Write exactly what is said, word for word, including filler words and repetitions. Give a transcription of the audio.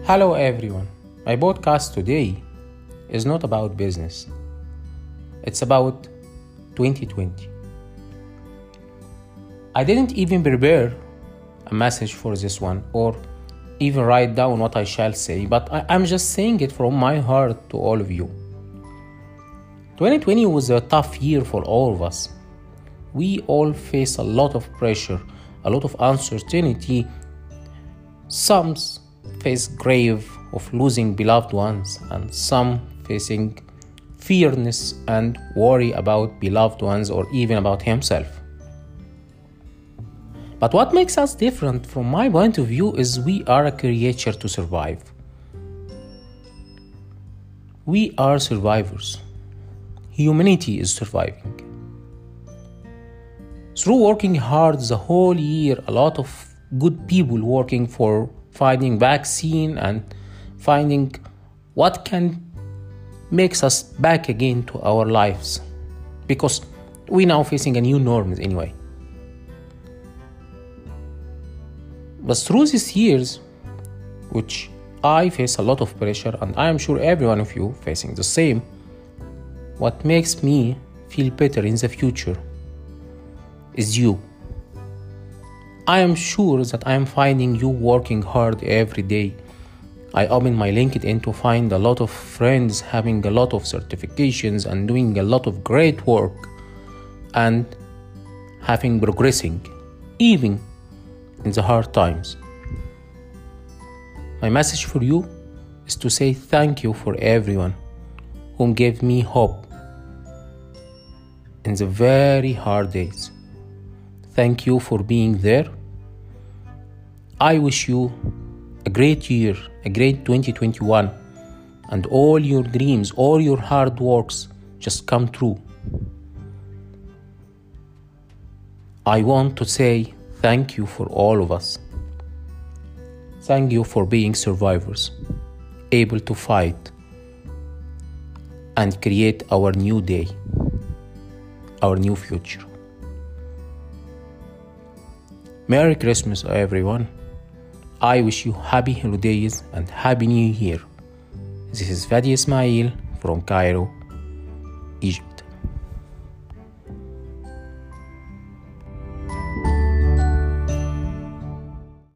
Hello everyone. My podcast today is not about business. It's about twenty twenty. I didn't even prepare a message for this one or even write down what I shall say, but I, I'm just saying it from my heart to all of you. twenty twenty was a tough year for all of us. We all face a lot of pressure, a lot of uncertainty. Some face grave of losing beloved ones, and some facing fearness and worry about beloved ones or even about himself. But what makes us different from my point of view is we are a creature to survive. We are survivors. Humanity is surviving. Through working hard the whole year, a lot of good people working for finding vaccine and finding what can makes us back again to our lives, because we now facing a new norms anyway. But through these years, which I face a lot of pressure, and I am sure every one of you facing the same, what makes me feel better in the future is you. I am sure that I am finding you working hard every day. I open my LinkedIn to find a lot of friends having a lot of certifications and doing a lot of great work and having progressing, even in the hard times. My message for you is to say thank you for everyone who gave me hope in the very hard days. Thank you for being there. I wish you a great year, a great twenty twenty-one, and all your dreams, all your hard works just come true. I want to say thank you for all of us. Thank you for being survivors, able to fight and create our new day, our new future. Merry Christmas, everyone. I wish you happy holidays and happy new year. This is Fadi Ismail from Cairo, Egypt.